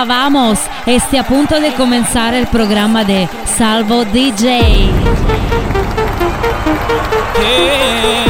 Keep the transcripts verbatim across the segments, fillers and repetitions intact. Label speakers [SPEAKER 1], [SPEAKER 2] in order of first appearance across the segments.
[SPEAKER 1] Hola, vamos. Este a punto de comenzar el programa de Salvo D J.
[SPEAKER 2] Yeah.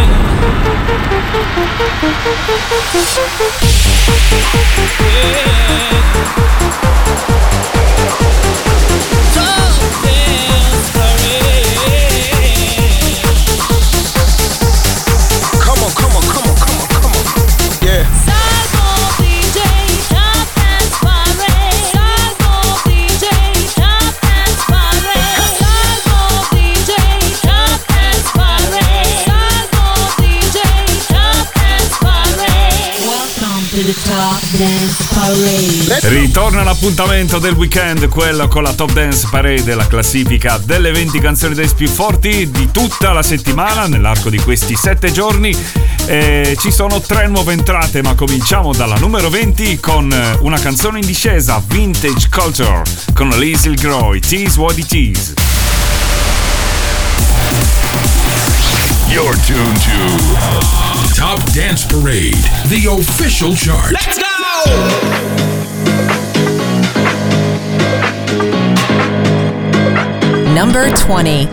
[SPEAKER 3] Come on, come on, come on, come on, come on. Yeah.
[SPEAKER 2] Salvo D J, Top Dance Parade. Salvo D J, Top Dance Parade. Salvo D J, Top Dance Parade. Salvo D J, Top Dance Parade.
[SPEAKER 1] Welcome to the Top Dance Parade.
[SPEAKER 4] Ritorna l'appuntamento del weekend, quello con la Top Dance Parade, la classifica delle venti canzoni dance più forti di tutta la settimana nell'arco di questi sette giorni. E ci sono tre nuove entrate, ma cominciamo dalla numero venti con una canzone in discesa, Vintage Culture, con Liesl Groy, It Is What It Is.
[SPEAKER 5] You're tuned to Top Dance Parade, the official chart.
[SPEAKER 2] Let's go!
[SPEAKER 6] Number twenty.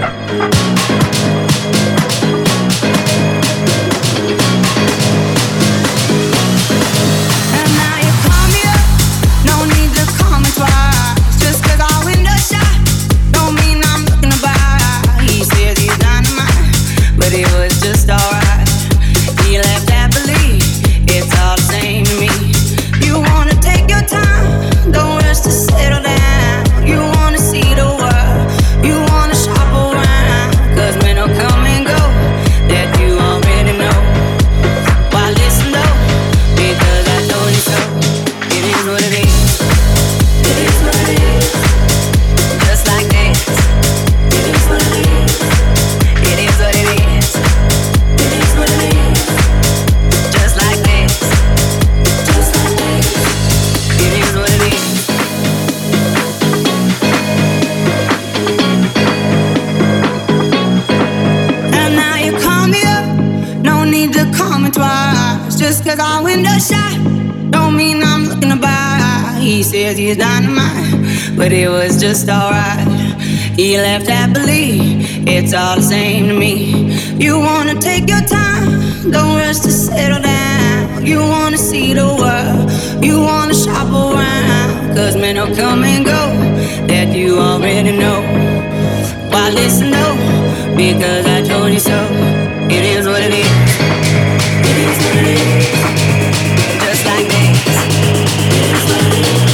[SPEAKER 7] He's dynamite, but it was just alright. He left happily, it's all the same to me. You wanna take your time, don't rush to settle down. You wanna see the world, you wanna shop around. Cause men will come and go, that you already know. Why listen though, because I told you so. It is what it is, it is what it is. Just like this, it is what it is.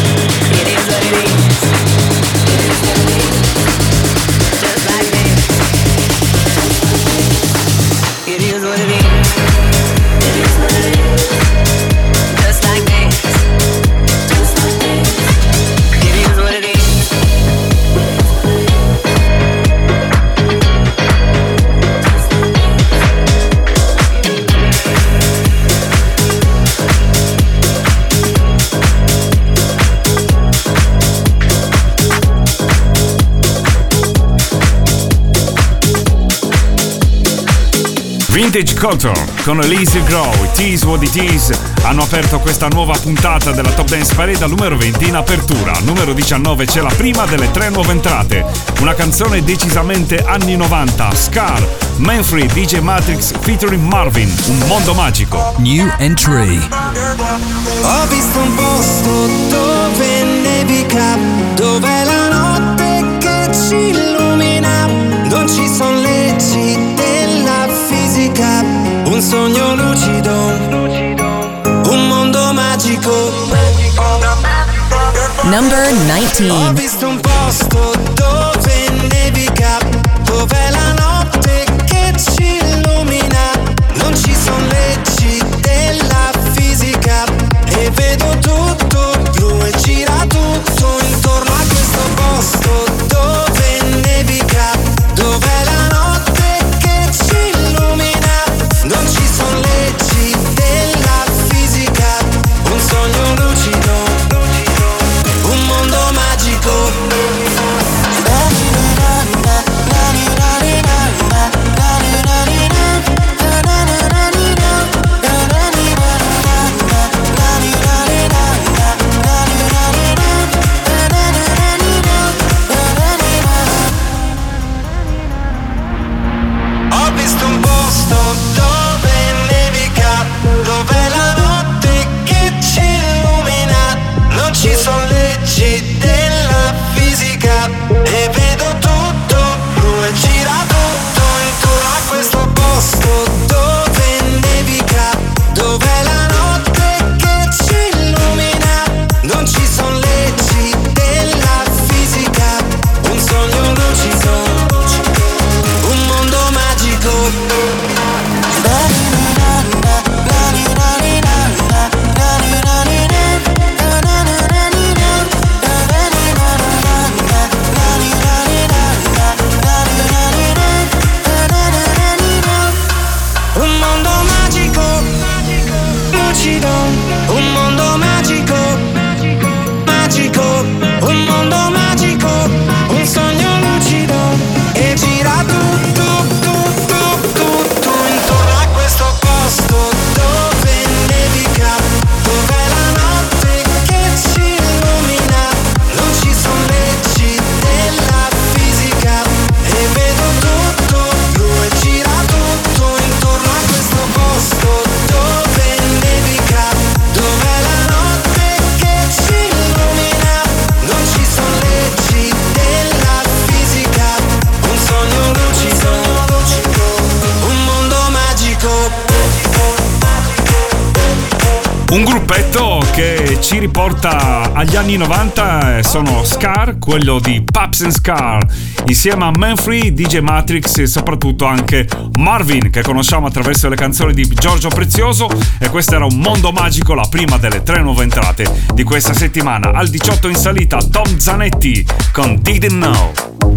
[SPEAKER 4] Vintage Culture con Liesl Grow, It Is What It Is hanno aperto questa nuova puntata della Top Dance Parade al numero venti in apertura. Al numero diciannove c'è la prima delle tre nuove entrate, una canzone decisamente anni novanta, Scar, Manfred, D J Matrix featuring Marvin, Un mondo magico.
[SPEAKER 8] New entry.
[SPEAKER 9] Ho visto un posto dove nevica, dove la notte che ci illumina, non ci sono leggi della fisica, un sogno lucido, un mondo magico.
[SPEAKER 6] Number nineteen.
[SPEAKER 9] Ho visto un posto dove nevica, dove la notte che ci illumina, non ci sono leggi della fisica, e vedo tutto blu e gira tutto intorno a questo posto dove nevica, dove la notte che ci illumina, non ci sono leggi della fisica, un sogno lucido, un mondo magico.
[SPEAKER 4] Un gruppetto che ci riporta agli anni novanta, sono Scar, quello di Paps and Scar, insieme a Manfree, D J Matrix e soprattutto anche Marvin, che conosciamo attraverso le canzoni di Giorgio Prezioso. E questo era Un Mondo Magico, la prima delle tre nuove entrate di questa settimana. Al diciotto in salita Tom Zanetti con Didn't Know.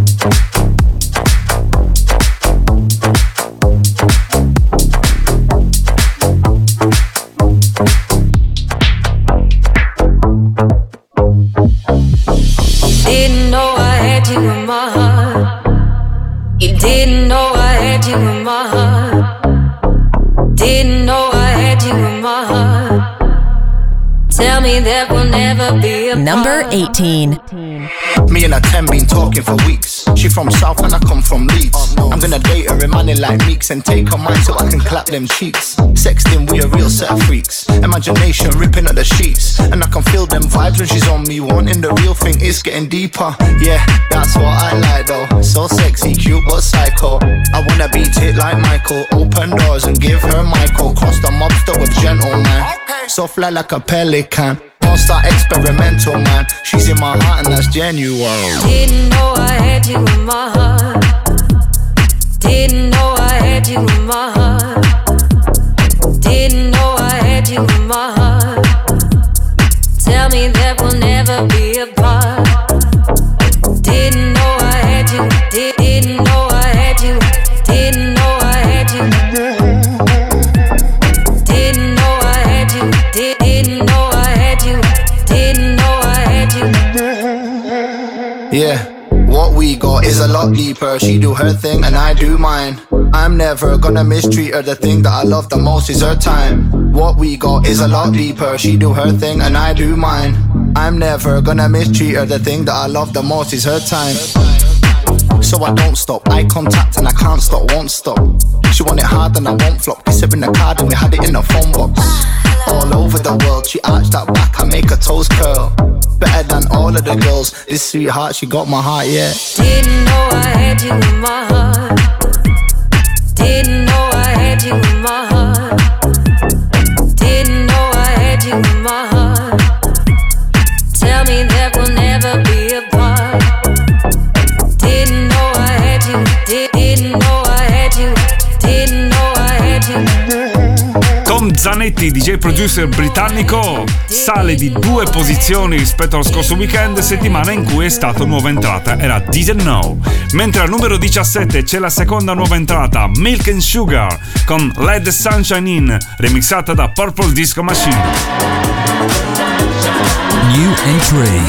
[SPEAKER 7] Didn't know I had you in my heart. You didn't know I had you in my heart. Didn't know I had you in my heart. Tell me that we'll never be apart.
[SPEAKER 6] Number eighteen.
[SPEAKER 8] Me and her ten been talking for weeks. She from South and I come from Leeds. I'm gonna date her in money like Meeks and take her mind so I can clap them cheeks. Sexting, we a real set of freaks. Imagination ripping at the sheets, and I can feel them vibes when she's on me. Wanting the real thing is getting deeper. Yeah, that's what I like though. So sexy, cute but psycho. I wanna beat it like Michael. Open doors and give her Michael. Cross the mobster with gentleman. So fly like a pelican. Don't start experimental, man. She's in my heart and that's genuine.
[SPEAKER 7] Didn't know I had you in my heart. Didn't know I had you in my heart. Didn't know I had you in my heart. Tell me that we'll never be apart. Didn't know I had you. Did, didn't know I had you. Didn't know I had you. Didn't know I had you. Did, didn't know I had you. Didn't know I had you.
[SPEAKER 8] Yeah. What we got is a lot deeper. She do her thing and I do mine. I'm never gonna mistreat her. The thing that I love the most is her time. What we got is a lot deeper. She do her thing and I do mine. I'm never gonna mistreat her. The thing that I love the most is her time. So I don't stop, eye contact and I can't stop, won't stop. She want it hard and I won't flop. Kiss her in the card and we had it in a phone box. All over the world, she arched that back, I make her toes curl. Better than all of the girls, this sweetheart, she got my heart, yeah.
[SPEAKER 7] Didn't know I had you in my heart. Didn't know I had you in my heart. Didn't know I had you in my heart. Tell me that we'll never be apart. Didn't know I had you. Did, didn't know I had you. Didn't know I had you.
[SPEAKER 4] Tom Zanetti, D J producer britannico, sale di due posizioni rispetto allo scorso weekend, settimana in cui è stata nuova entrata, era Didn't Know. Mentre al numero diciassette c'è la seconda nuova entrata, Milk and Sugar, con Let the Sunshine In, remixata da Purple Disco Machine.
[SPEAKER 10] New entry.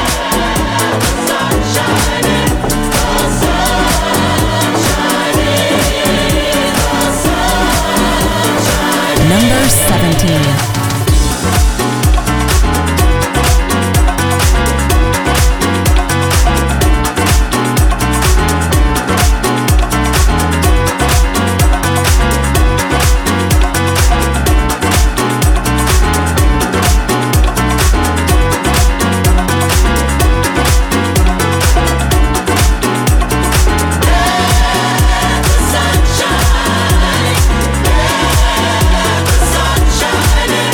[SPEAKER 6] Number seventeen.
[SPEAKER 9] Sunshine.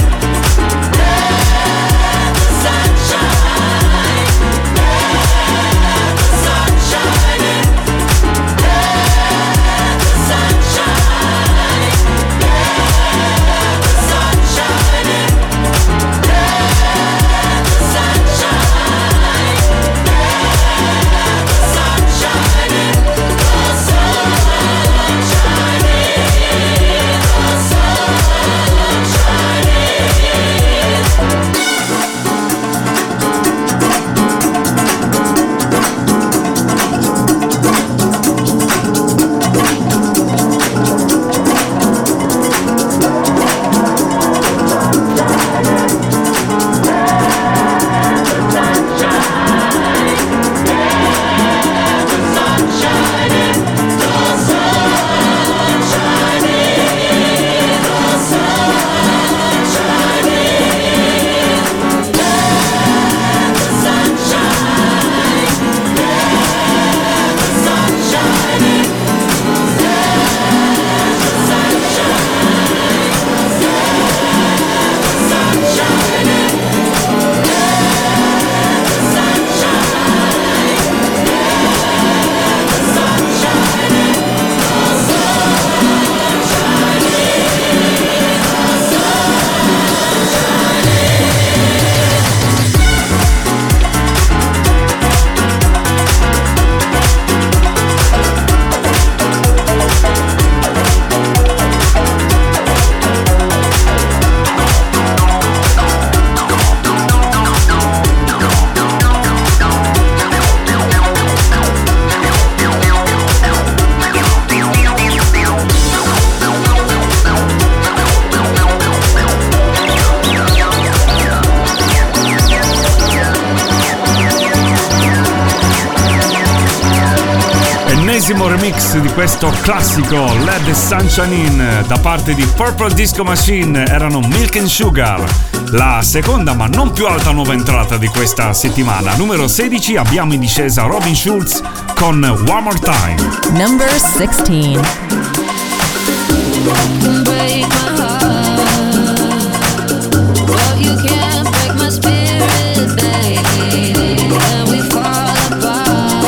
[SPEAKER 4] bellissimo remix di questo classico Let the Sunshine In da parte di Purple Disco Machine. Erano Milk and Sugar, la seconda ma non più alta nuova entrata di questa settimana. Numero sedici abbiamo in discesa Robin Schulz con One More Time.
[SPEAKER 6] Number sixteen.
[SPEAKER 2] Break my heart, but you can't break my spirit, baby. And we fall apart.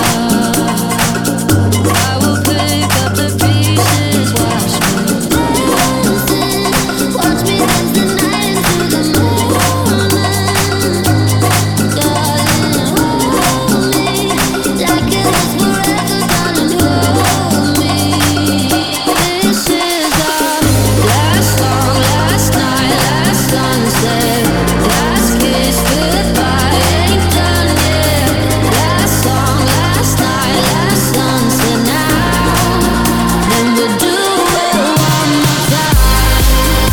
[SPEAKER 2] I will pick up the pieces, watch me dancing, watch me dance the night into the morning. Darling, hold me like it was forever, darling, hold me. This is our last song, last night, last sunset, last kiss, goodbye, ain't done yet. Last song, last night, last sunset, now then we'll do it one more time.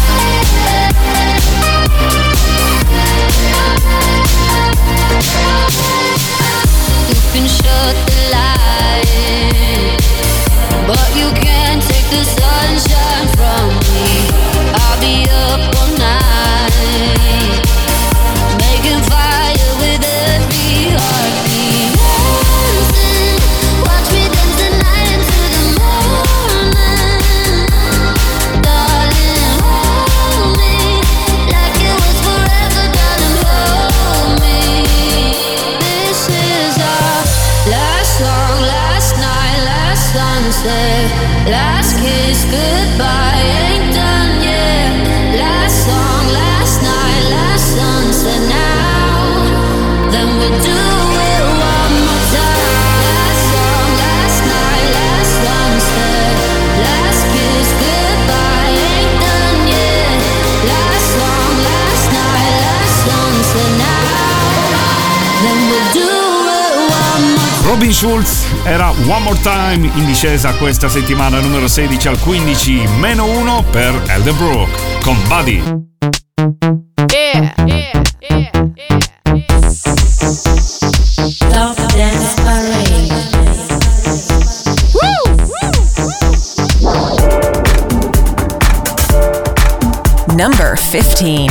[SPEAKER 2] You can shut the light, but you can't take the sunshine from me. I'll be up all night, making fire with every heartbeat. Dancing, watch me dance the night into the morning. Darling, hold me like it was forever, darling, hold me. This is our last song, last night, last sunset, last kiss, goodbye, ain't done yet. Last song, last night, last sunset, now then we'll do it one more time. Last song, last night, last sunset, last kiss, goodbye, ain't done yet. Last song, last night, last sunset, now then we'll do it one more time.
[SPEAKER 4] Robin Schulz era One More Time in discesa questa settimana, numero sedici al quindici, meno uno per Elderbrook con Buddy.
[SPEAKER 2] Yeah, yeah, yeah, yeah.
[SPEAKER 1] Top Dance Parade.
[SPEAKER 6] Number fifteen.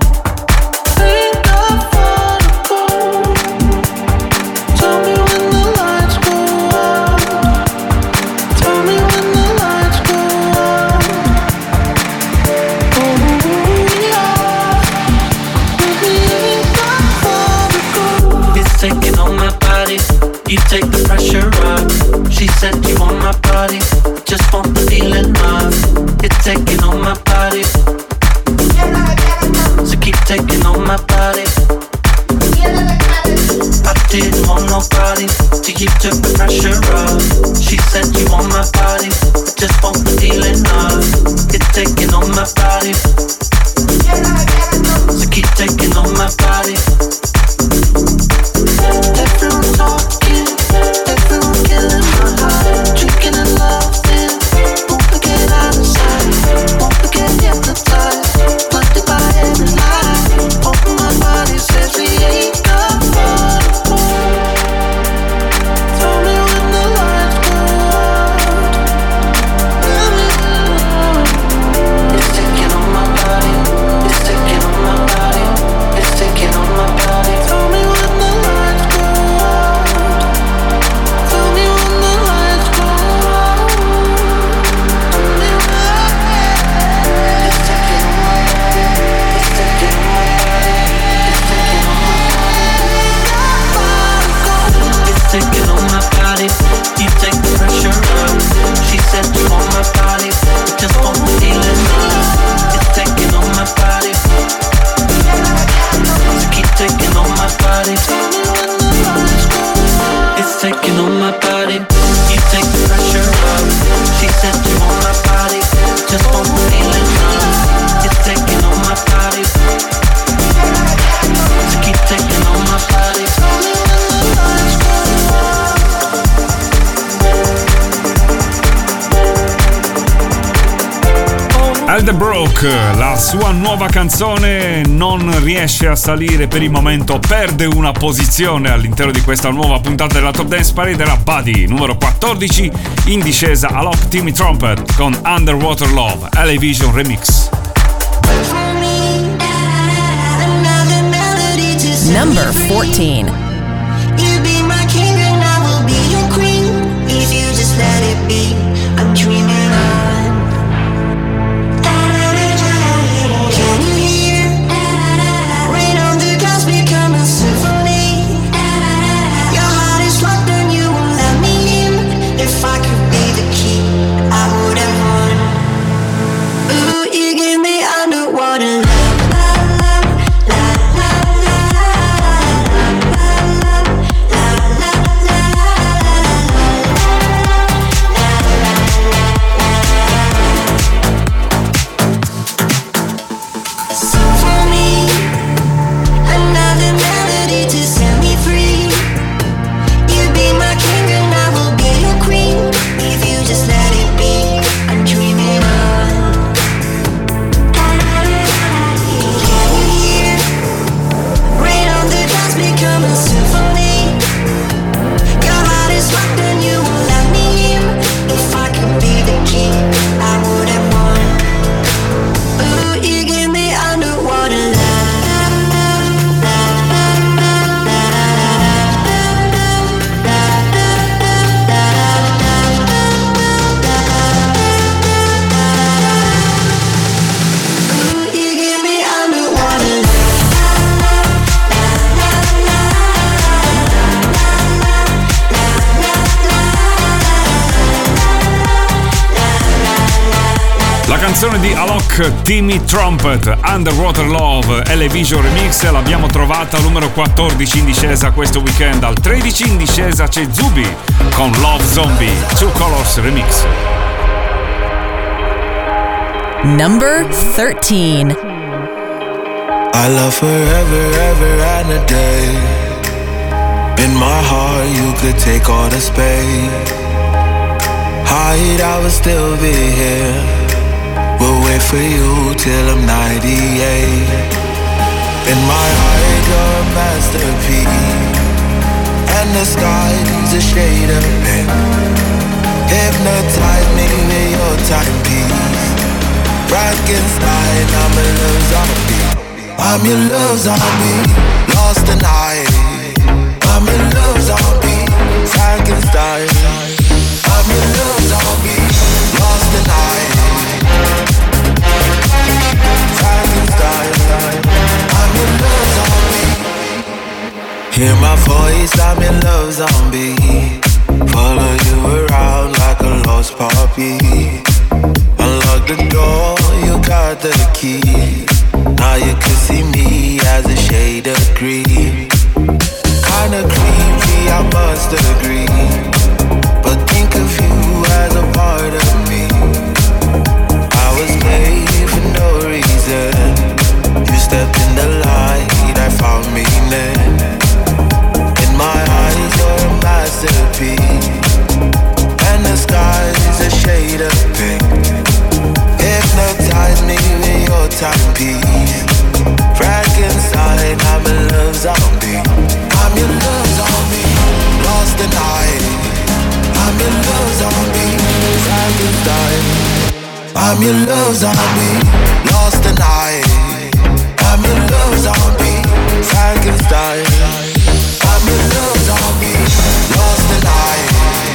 [SPEAKER 9] Taking on my body, you take the pressure off. She said you want my body, just want the feeling of. It's taking on my body, so keep taking on my body. I didn't want nobody, till you took the pressure off. She said you want my body, just want the feeling of. It's taking on my body, so keep taking on my body. Everyone talking, everyone killing my heart. Drinking and loving, won't forget out of sight. Won't forget hypnotized, blinded by every lie. Open my body, says we ain't got far to go. Tell me when the lights go out. Tell me. It's taking on my
[SPEAKER 4] Elderbrook, la sua nuova canzone non riesce a salire per il momento, perde una posizione all'interno di questa nuova puntata della Top Dance Parade. Era Buddy, numero quattordici, in discesa Alok, Timmy Trumpet con Underwater Love, L A Vision Remix.
[SPEAKER 6] Number fourteen.
[SPEAKER 10] You be my king and I will be your queen. If you just let it be, I'm dreaming on. Can you hear? Rain on the clouds become a symphony. Your heart is locked and you won't let me in. If I could be the key, I would have won. Ooh, you give me underwater love.
[SPEAKER 4] Canzone di Alok, Timmy Trumpet, Underwater Love, L A Vision Remix, l'abbiamo trovata al numero quattordici in discesa questo weekend. Al tredici in discesa c'è Zubi con Love Zombie, Two Colors Remix.
[SPEAKER 6] Number thirteen.
[SPEAKER 9] I love forever, ever and a day. In my heart you could take all the space. Hide, I will still be here. We'll wait for you till I'm ninety-eight. In my heart you're a masterpiece, and the sky's a shade of pink. Hypnotize me with your timepiece. Frankenstein, I'm a love zombie. I'm your love zombie. Lost the night. I'm a love zombie. Frankenstein. I'm your love zombie. Lost the night. I'm your love zombie. Hear my voice, I'm your love zombie. Follow you around like a lost puppy. Unlock the door, you got the key. Now you can see me as a shade of green. Kinda creepy, I must agree. But think of you as a part of me. I was made for no reason. You stepped in the light, I found meaning. In my eyes, you're a masterpiece, and the sky's a shade of pink. Hypnotize me with your timepiece. Frankenstein, I'm a love zombie. I'm your love zombie. Lost the night. I'm your love zombie. Frankenstein. I'm your love zombie. Lost the night. I'm your love zombie. Frankenstein. I'm your love zombie. Lost the night.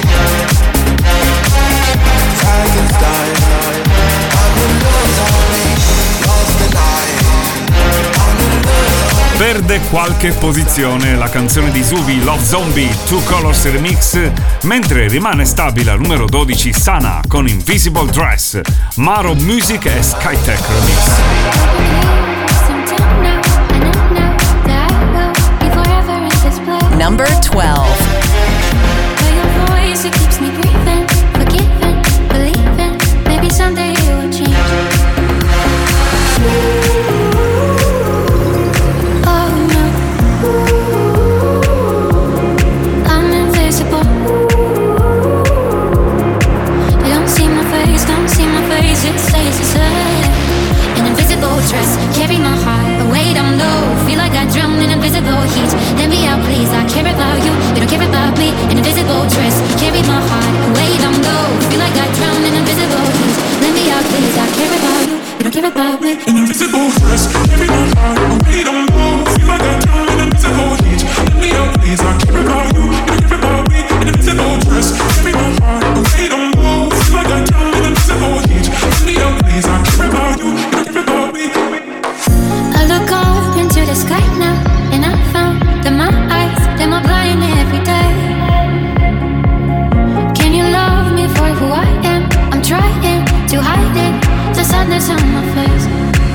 [SPEAKER 9] Frankenstein. I'm your love zombie. Lost the night. I'm your love zombie.
[SPEAKER 4] Perde qualche posizione la canzone di Zubi, Love Zombie, Two Colors Remix, mentre rimane stabile al numero dodici Sana con Invisible Dress, Maro Music e Skytech Remix.
[SPEAKER 6] Number twelve.
[SPEAKER 10] Someday it will change. Oh no, I'm invisible. You don't see my face, don't see my face. It stays the same.
[SPEAKER 11] care about you, you don't care about me. An invisible dress carried my heart away down low. Feel like I drowned in invisible heat. Let me out, please. I care about you, you don't care about me.
[SPEAKER 12] An invisible dress carried my heart away down low. Feel like I drowned in invisible heat. Let me out, please. I care about you, you don't care about me. An invisible dress carried my heart away down low. Feel like I drowned in invisible heat. Let me out, please. I care about you, you don't care about me.
[SPEAKER 11] I look up into the sky now, and I found that my eyes, they're more blind every day. Can you love me for who I am? I'm trying to hide it, the sadness on my face.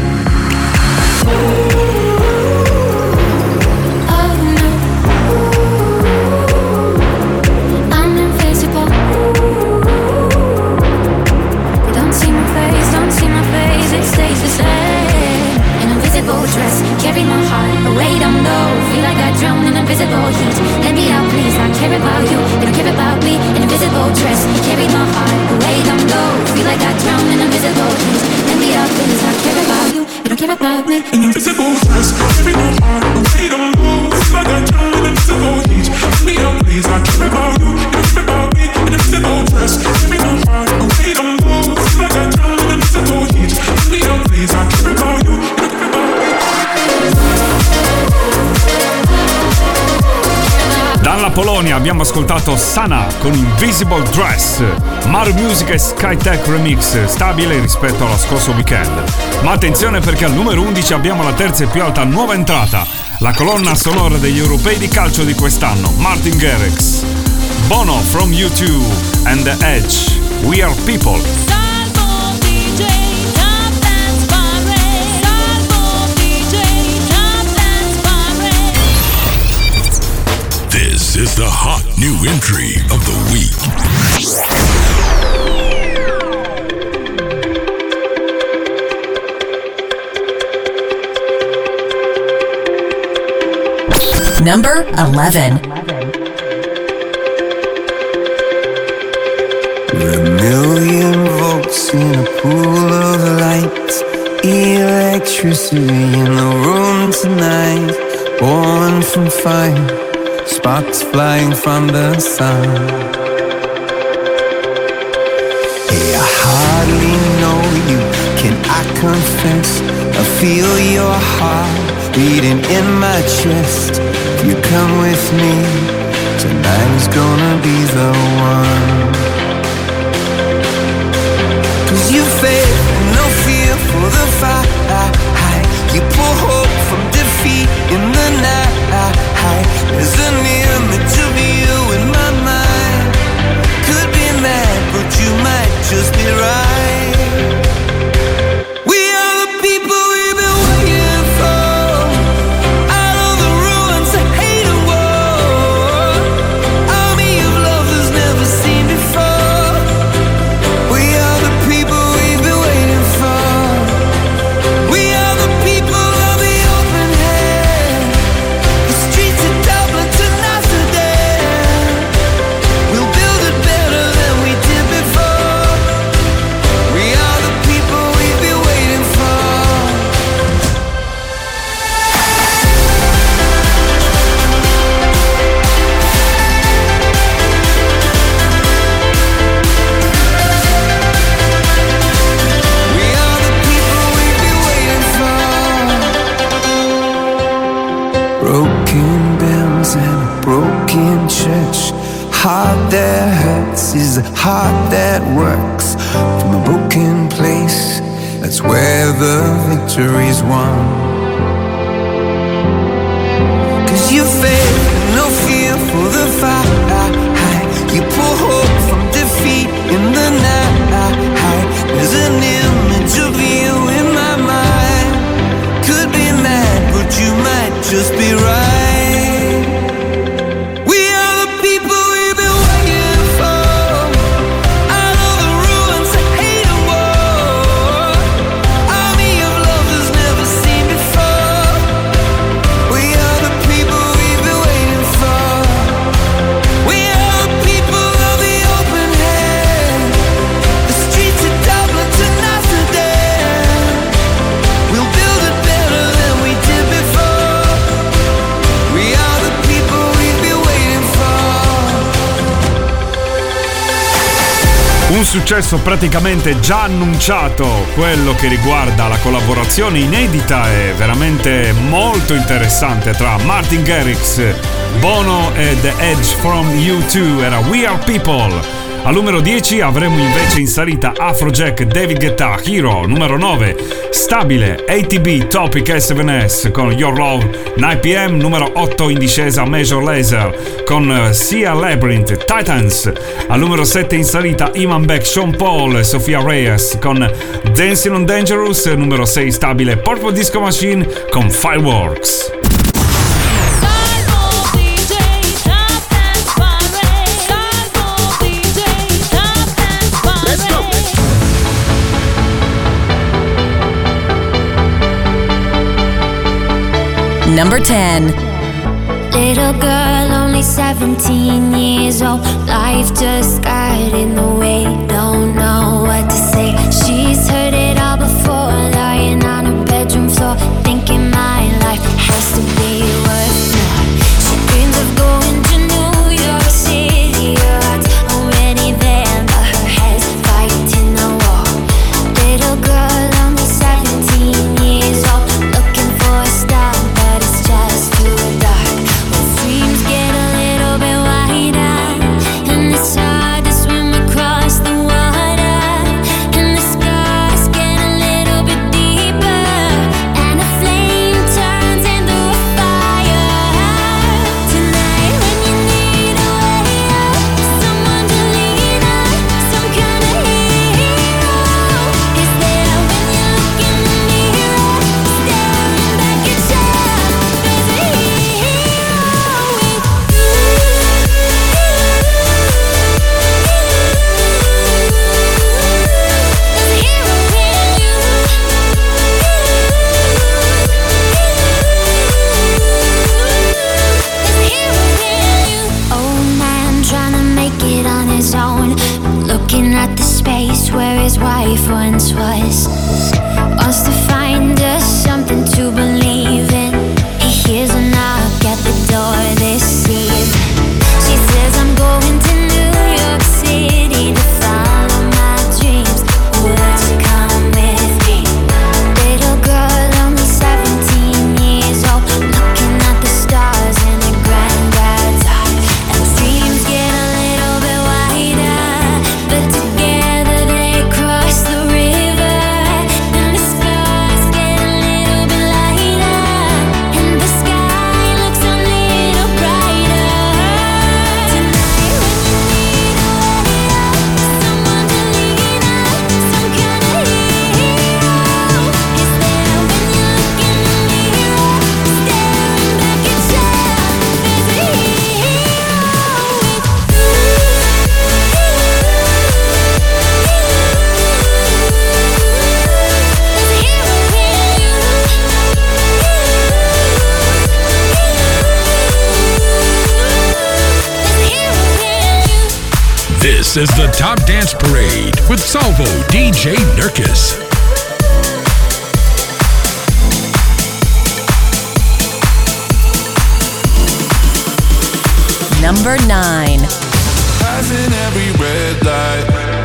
[SPEAKER 11] Oh no, I'm invisible. You don't see my face, don't see my face, it stays the same. An invisible dress carry my heart away down low. Feel like I drowned in invisible heat. Let me out, please. I care about you, you don't care about me. An invisible dress carry my heart away down low. Feel like I drowned in invisible heat. Let me out, please. I care about you, you don't care about me.
[SPEAKER 12] An invisible dress carry my heart away down low. Feel like I drowned in invisible heat. Let me out, please. I care about you, you don't care about me. An invisible dress carry my heart away down low. Feel like I drowned in invisible heat. Let me out, please. I care about you, you don't care about me.
[SPEAKER 4] Dalla Polonia abbiamo ascoltato Sana con Invisible Dress, Maru Music e Skytech Remix, stabile rispetto allo scorso weekend. Ma attenzione perché al numero undici abbiamo la terza e più alta nuova entrata, la colonna sonora degli europei di calcio di quest'anno, Martin Garrix, Bono from U two and The Edge, We Are People.
[SPEAKER 2] Salvo D J Top Dance Parade. Salvo D J Top Dance Parade.
[SPEAKER 5] This is the hot new entry of the week.
[SPEAKER 6] Number eleven.
[SPEAKER 9] We're a million volts in a pool of light. Electricity in the room tonight. Born from fire. Sparks flying from the sun. Hey, I hardly know you, can I confess? I feel your heart beating in my chest. If you come with me, tonight is gonna be the one. Cause you faith and no fear for the fight. You pull hope from defeat in the night. There's an image of you in my mind. Could be mad, but you might just be right. We are the people we've been waiting for. Out of the ruins of hate and war. Army of lovers never seen before. We are the people we've been waiting for. We are the people of the open hand. The streets of Dublin to Amsterdam. We'll build it better than we did before. We are the people we've been waiting for. We are the people we've been waiting for. Broken bells and a broken church. Heart that hurts is a heart that works. From a broken place, that's where the victory's won. Cause you faith, no fear for the fight. You pull hope from defeat in the night. There's an image of you in my mind. Could be mad, but you might just be right. We are the people we've been waiting for. Out of the ruins of hate and war. Army of lovers never seen before. We are the people we've been waiting
[SPEAKER 4] Un successo praticamente già annunciato, quello che riguarda la collaborazione inedita e veramente molto interessante tra Martin Garrix, Bono e The Edge from U due, era We Are People. Al numero dieci avremo invece in salita Afrojack, David Guetta, Hero. Numero nove, stabile, A T B, Topic S seven S con Your Love, nove p m. Numero otto in discesa, Major Lazer con Sia Labyrinth, Titans. Al numero sette in salita Iman Beck, Sean Paul e Sofia Reyes con Dancing on Dangerous. Numero sei stabile, Purple Disco Machine con Fireworks.
[SPEAKER 6] Number ten.
[SPEAKER 11] Little girl, only seventeen years old. Life just got in the way. Don't know what to say. She's heard it all before, lying on her bedroom floor, thinking my life has to be worth more. She dreams of going to New York City. Her heart's already there, but her head's fighting the war. Little girl, only seventeen years old, looking for a star, but it's just too dark. When dreams get a little bit wider, and it's hard to swim across the water, and the scars get a little bit deeper, and a flame turns into a fire. Tonight when you need a way out, someone to lean on, some kind of hero is there when you look in the mirror, staring back at yourself. There's a hero with you. There's a hero in you. There's a hero in you. Old man trying to make it on his own, looking at the space where his wife once was. Wants to find us something to believe in. He hears a knock at the door this eve. She says, I'm going to New York City to follow my dreams. Would you come with me? Little girl, only seventeen years old, looking at the stars in her granddad's eye. And dreams get a little bit wider, but together they cross the river. And the scars get a little bit lighter, and the sky looks a little brighter. Tonight when you need a way out, someone to lean on, some kind of hero is there when you look in the mirror, staring back at yourself. There's a hero with you. There's a hero in you. There's a hero in you.
[SPEAKER 5] This is the Top Dance Parade with Salvo D J Nurkis.
[SPEAKER 6] Number nine.
[SPEAKER 12] Passing every red light,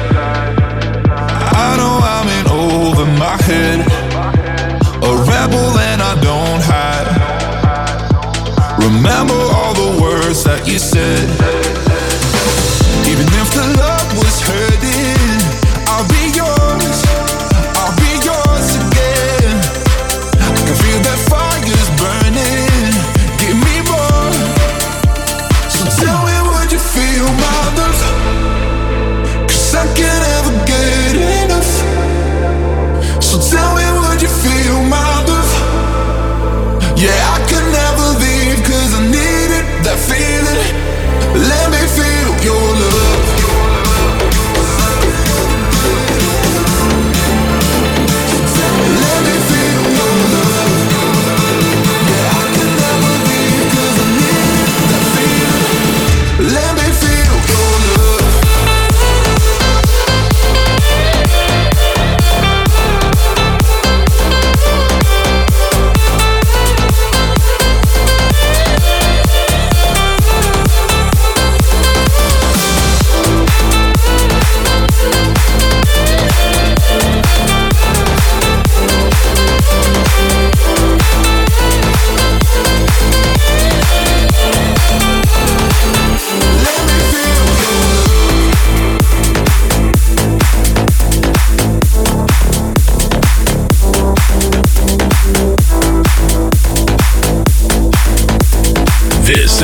[SPEAKER 12] I know I'm in over my head. A rebel and I don't hide. Remember all the words that you said. Even if the love was hurting, I'll be yours, I'll be yours again. I can feel that fire's burning, give me more. So tell me, would you feel my love? 'Cause I can't ever get enough. So tell me, would you feel my love? Yeah, I could never leave 'cause I needed that feeling.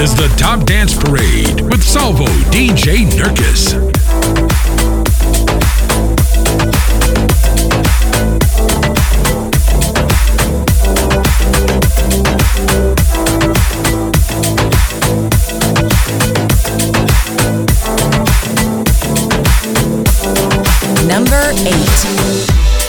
[SPEAKER 5] is the Top Dance Parade with Salvo D J Nurkis.
[SPEAKER 6] Number eight.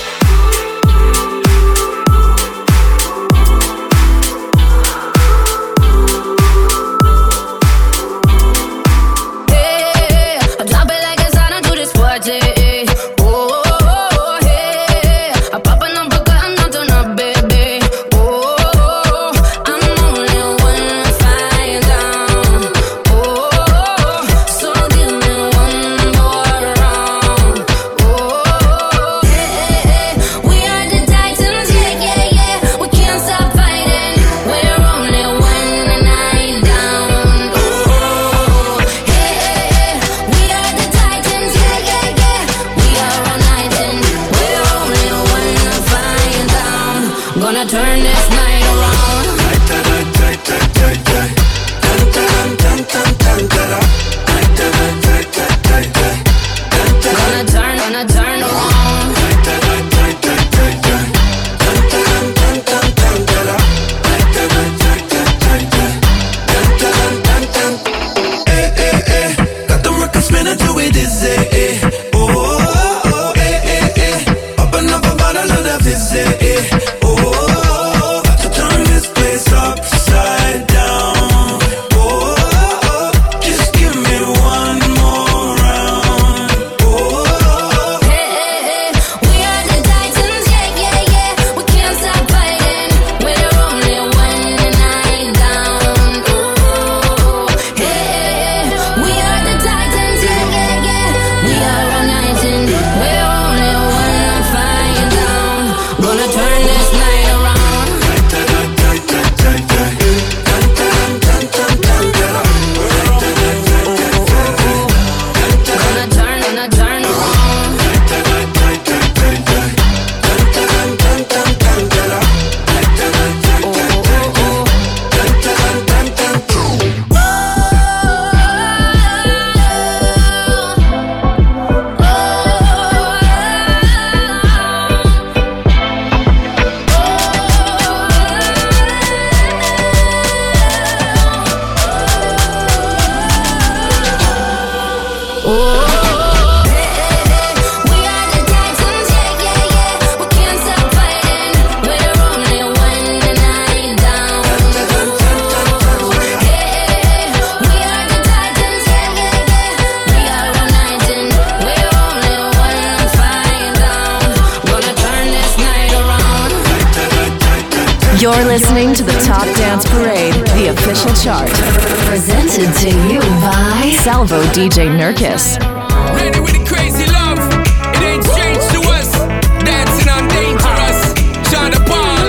[SPEAKER 6] You're listening to the Top Dance Parade, the official chart. Presented to you by Salvo D J Nurkis.
[SPEAKER 13] Ready with the crazy love. It ain't strange to us. Dancing on dangerous. Sean Paul.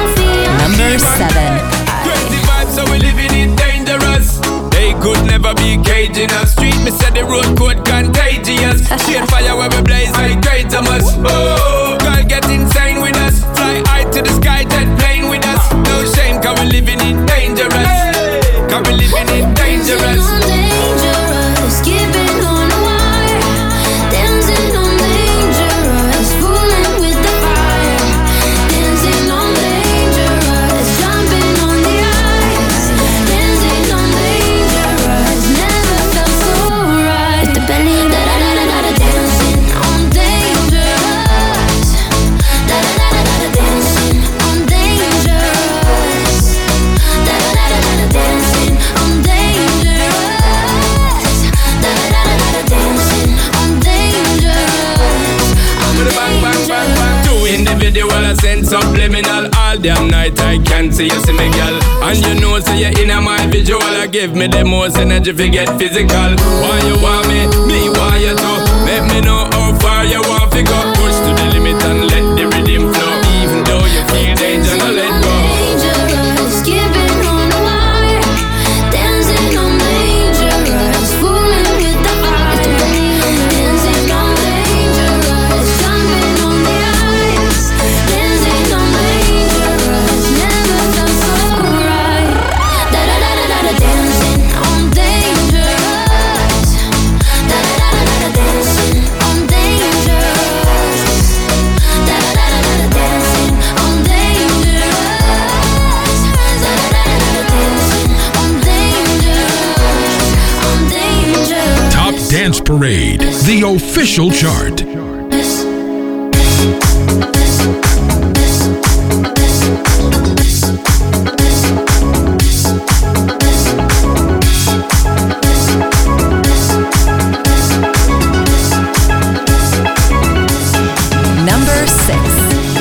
[SPEAKER 6] Number seven.
[SPEAKER 13] Crazy vibes, so we living it dangerous. They could never be caging us. Street, me said the road code contagious. Shade fire where we blaze like great Thomas. Oh, girl get insane with us. Fly high to the sky, jet plane with us. No shame, cause we living it dangerous. Cause we living it dangerous.
[SPEAKER 10] Dangerous, keeping on a wire, dancing on dangerous, fooling with the fire, dancing on dangerous, jumping on the ice, dancing on dangerous, never felt so right. With the belly, da da da da da da, dancing on dangerous, da da da da da da, dancing on dangerous, da da da da da da, dancing on dangerous.
[SPEAKER 13] In the video, I send subliminal. All damn night I can't see you, see me, girl. And you know, so you're in my visual. I give me the most energy if you get physical. Why you want me? Me want you to. Let me know how far you want to go. Push to the limit and let the rhythm flow. Even though you feel danger, no let go.
[SPEAKER 10] Dangerous, keeping on a wire, dancing on dangerous, fooling with the fire, dancing on dangerous, jumping on the ice, dancing on dangerous, never felt so right. Da da da da da da, dancing
[SPEAKER 5] Dance Parade, the official chart.
[SPEAKER 6] Number six.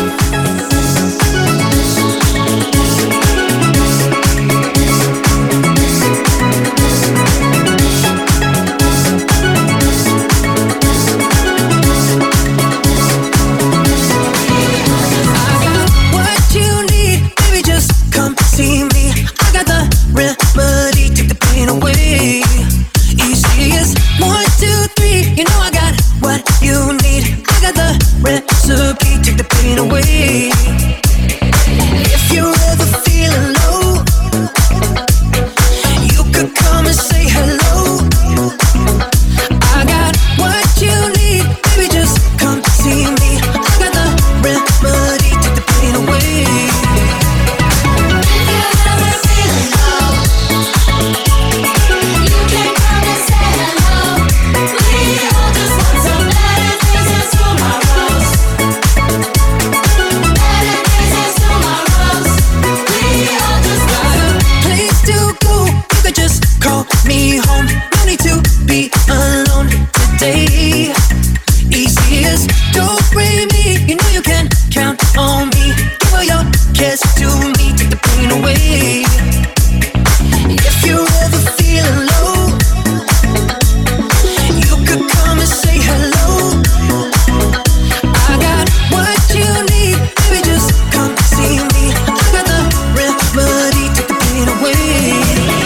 [SPEAKER 9] Recipe, take the pain away. If you're ever feeling low, you could come and say hello. I got what you need, baby, just come see me. I got the remedy, take the pain away. If you're ever feeling low, you can come and say hello. We all just want some better days and tomorrows. Call me home, no need to be alone today. Easy as don't bring me, you know you can count on me. Give all your cares to me, take the pain away. If you're ever feeling low, you could come and say hello. I got what you need, baby, just come see me. I got the remedy, take the pain away.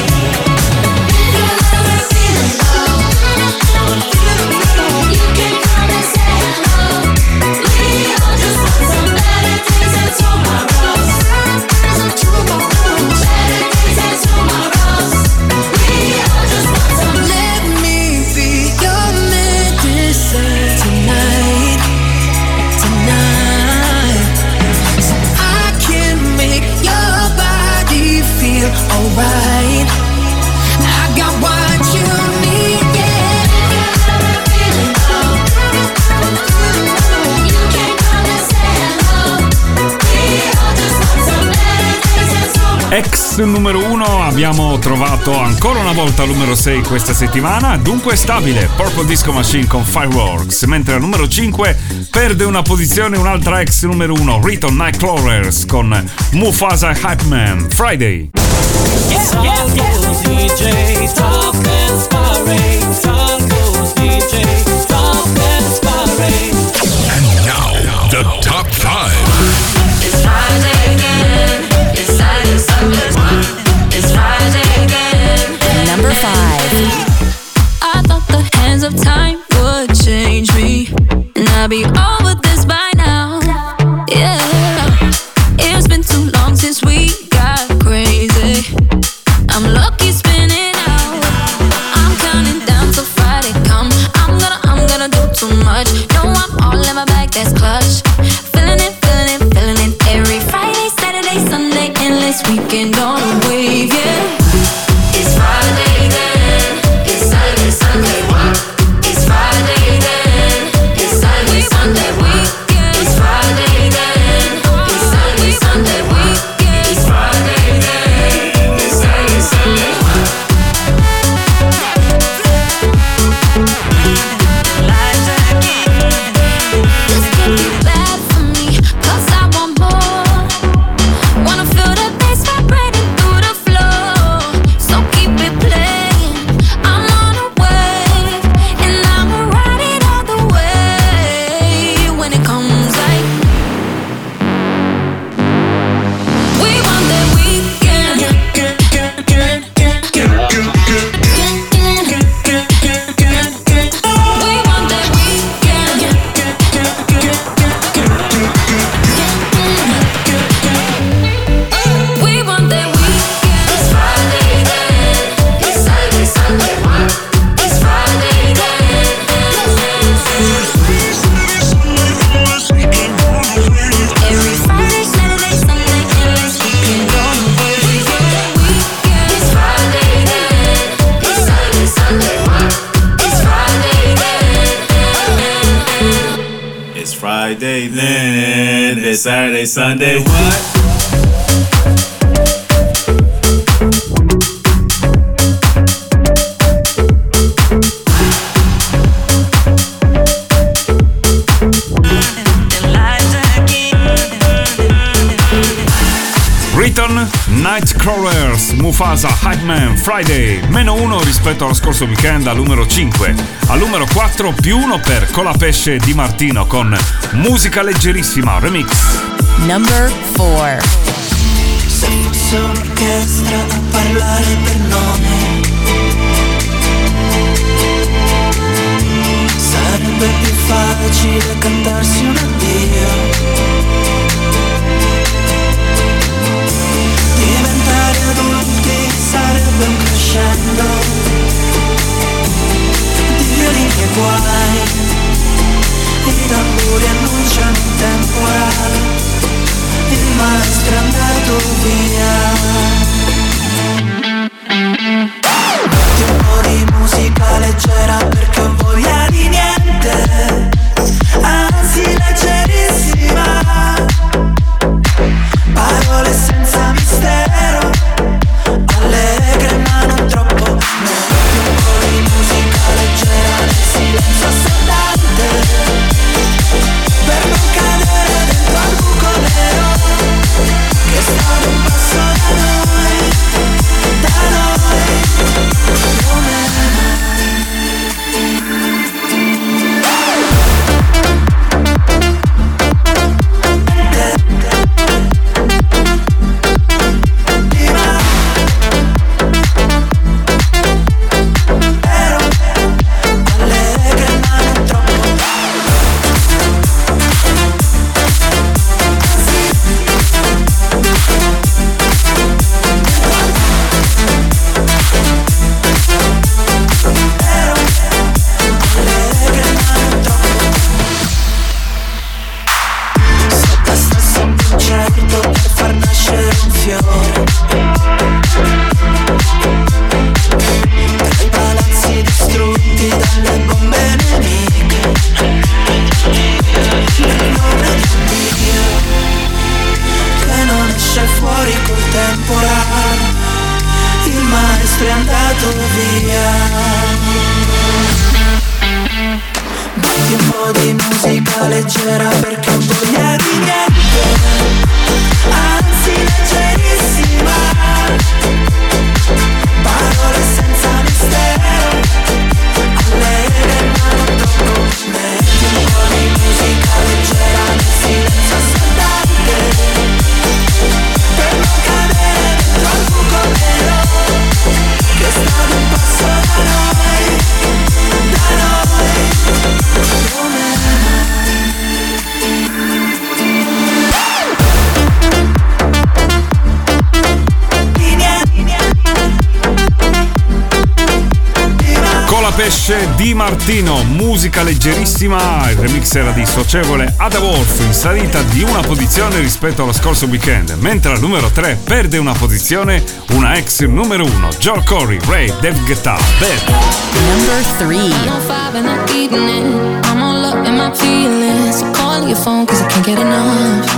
[SPEAKER 9] Alright, I got what you need, yeah. Feeling low, you can come and say hello. We all just want some better days and tomorrow.
[SPEAKER 4] Ex numero uno, abbiamo trovato ancora una volta al numero sei questa settimana, dunque stabile, Purple Disco Machine con Fireworks, mentre al numero cinque perde una posizione un'altra ex numero uno, Riton Nightcrawlers con Mufasa Hype Man, Friday.
[SPEAKER 2] Yeah, yeah, yeah. D J Top Dance Parade, Salvo's D J Top Dance Parade.
[SPEAKER 5] And now, the top five.
[SPEAKER 2] It's Friday again. It's Saturday, Sunday. It's Friday again.
[SPEAKER 6] Number five.
[SPEAKER 11] I thought the hands of time would change me, and I'd be over this by now. Yeah, it's been too long since we got crazy. I'm lucky spinning out. I'm counting down till Friday come. I'm gonna, I'm gonna do too much. No, I'm all in my bag, that's clutch. Feeling it, feeling it, feeling it. Every Friday, Saturday, Sunday, endless weekend on a wave, yeah.
[SPEAKER 2] It's Friday then. It's Saturday, Sunday. It's Friday then. It's Saturday, Sunday. It's Friday then. It's Saturday, Sunday. It's Friday then. It's Saturday, Sunday. Lights again.
[SPEAKER 14] Friday, then then Saturday, Sunday, what?
[SPEAKER 4] Return, Nightcrawlers, Mufasa, Hype Man, Friday, meno uno rispetto allo scorso weekend al numero cinque. Al numero quattro più uno per Colapesce Di Martino con Musica Leggerissima Remix.
[SPEAKER 6] Number four.
[SPEAKER 9] Se fosse un'orchestra a parlare per nome, sarebbe più facile cantarsi un addio. Diventare adulti sarebbe un crescendo di violini e guai, i tamburi annunciano un temporale, il maestro è andato via. Metti un po' di musica leggera perché ho voglia di niente, anzi leggerissima, parole senza mistero, allegre ma non troppo. Metti un po' di musica leggera nel silenzio assordante, per non cadere dentro al buco nero che sta ad un passo da noi, da noi, come
[SPEAKER 4] Di Martino, musica leggerissima, il remix era di Socievole Ada Wolf, in salita di una posizione rispetto allo scorso weekend, mentre al numero tre perde una posizione una ex numero uno, Joel Corey, Ray, David Guetta, Bad.
[SPEAKER 6] Number three.
[SPEAKER 15] I'm on five in the evening, I'm all up in my feelings, so call your phone cause I can't get enough.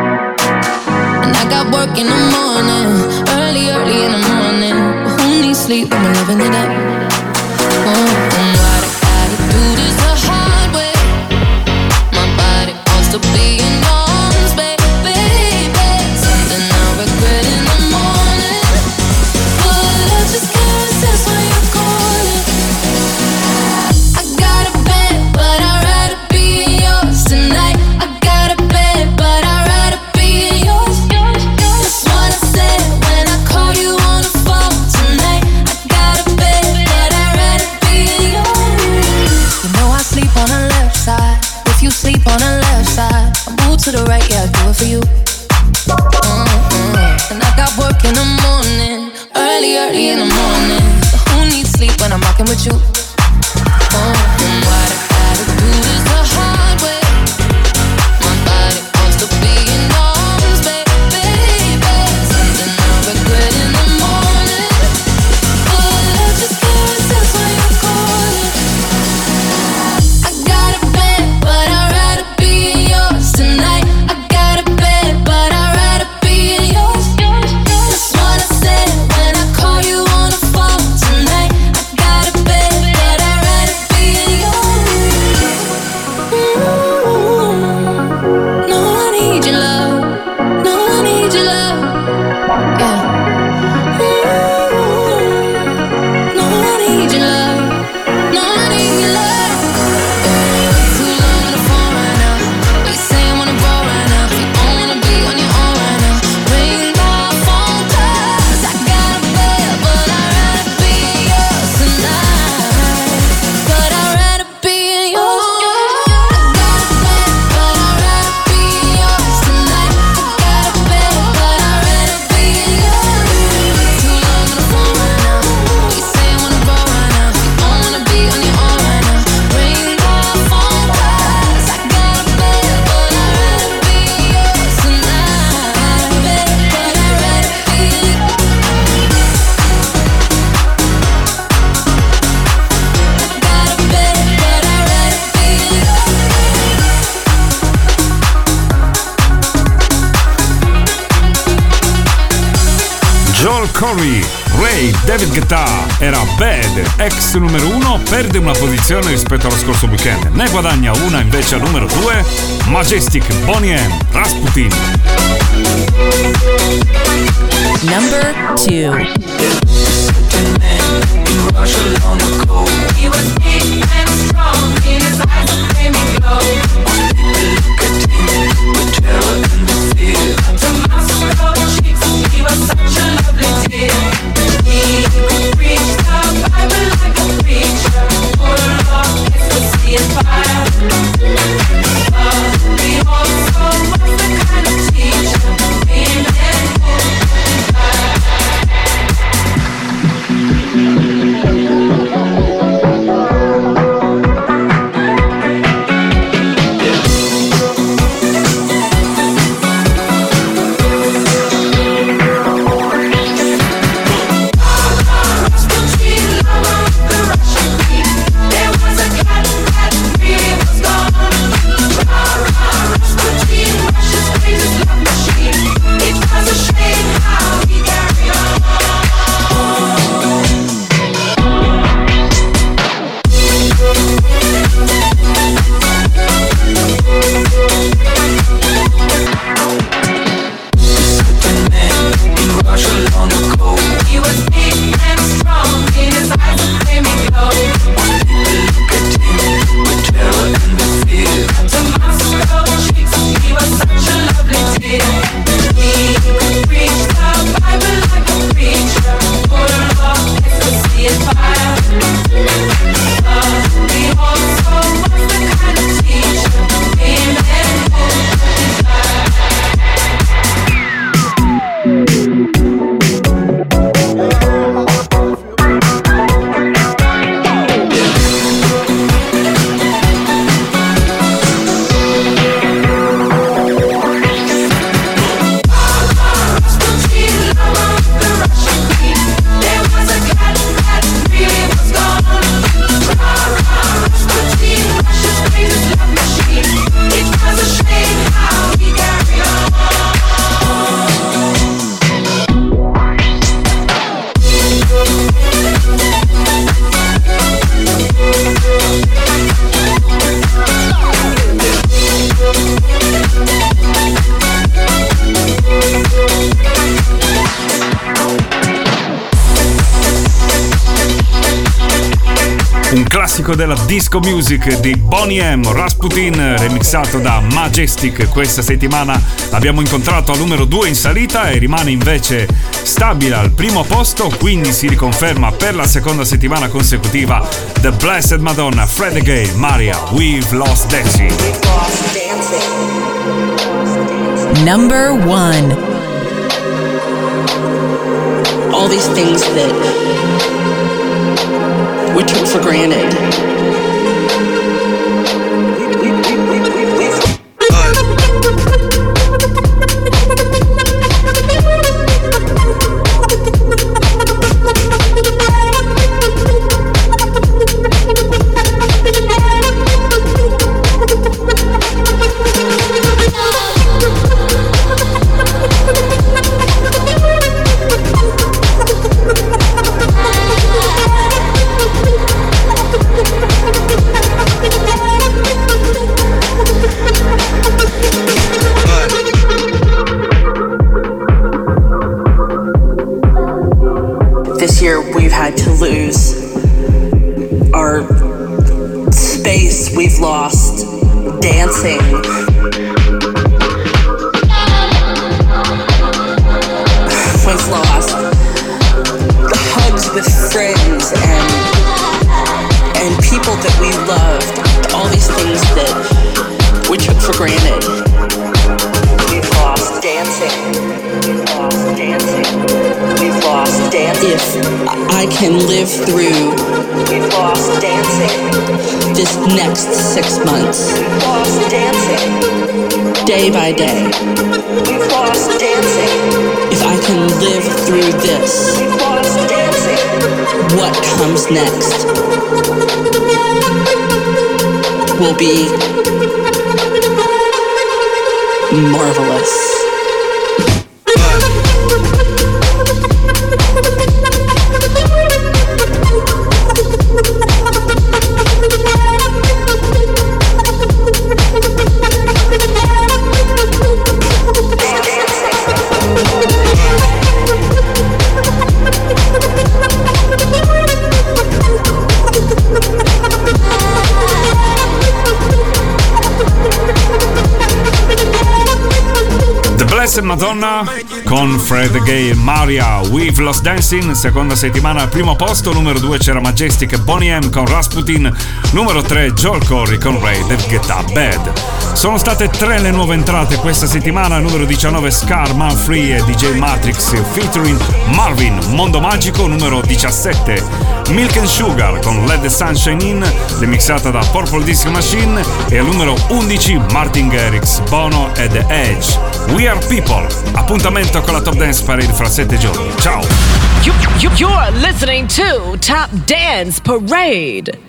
[SPEAKER 15] And I got work in the morning, early, early in the morning, but who needs sleep when we're living it up? Oh, and why do I do this the hard way? My body wants to be in arms, baby, baby. Something I regret in the morning, but I just can't resist when you're calling. I got a bed, but I'd rather be yours tonight. I got a bed, but I'd rather be yours. That's what I said when I call you on the phone tonight. I got a bed, but I'd rather be yours. You know I sleep on the left side. If you sleep on the left side, I move to the right, yeah, I do it for you. Mm-hmm. And I got work in the morning, early, early in the morning. So who needs sleep when I'm rocking with you? Oh, and why do I gotta do this the hard way? My body wants to be in arms, baby, baby. Something I regret in the morning, but I just can't resist when you're calling. I got a bed, but I'd rather be yours.
[SPEAKER 4] Corey, Ray, David Guetta era Bad, ex numero uno, perde una posizione rispetto allo scorso weekend, ne guadagna una invece al numero due, Majestic, Boney M, Rasputin.
[SPEAKER 6] Number two.
[SPEAKER 2] He was big and strong, in his eyes a flaming glow. Look at him with terror and fear. To my swirl cheeks, he was such a lovely dear. He could preach the Bible like a preacher, full of ecstasy and fire. But he also was the kind of teacher we men would desire.
[SPEAKER 4] Della disco music di Boney M, Rasputin, remixato da Majestic. Questa settimana l'abbiamo incontrato al numero due in salita e rimane invece stabile al primo posto, quindi si riconferma per la seconda settimana consecutiva The Blessed Madonna, Fred again, Maria, We've Lost Dancing.
[SPEAKER 6] Number one.
[SPEAKER 16] All these things that we took for granted. This year we've had to lose our space, we've lost dancing. We've lost the hugs with friends and and people that we loved, all these things that we took for granted. We've lost dancing. We've lost dancing. We've lost dancing. If I can live through We've lost dancing. This next six months, We've lost dancing. Day by day, We've lost dancing. If I can live through this, We've lost dancing. What comes next will be marvelous.
[SPEAKER 4] Prince e Madonna con Fred Gay e Maria, We've Lost Dancing, seconda settimana al primo posto. Numero due c'era Majestic e Boney M con Rasputin. Numero tre Joel Corry con Ray That Get Up Bad. Sono state tre le nuove entrate questa settimana. Numero diciannove Scar, Man Free e D J Matrix featuring Marvin, Mondo Magico. Numero diciassette Milk and Sugar con Let the Sunshine In, remixata da Purple Disco Machine. E al numero undici Martin Garrix, Bono e The Edge, We Are People. Appuntamento con la Top Dance Parade fra sette giorni. Ciao!
[SPEAKER 17] You, you, you're listening to Top Dance Parade.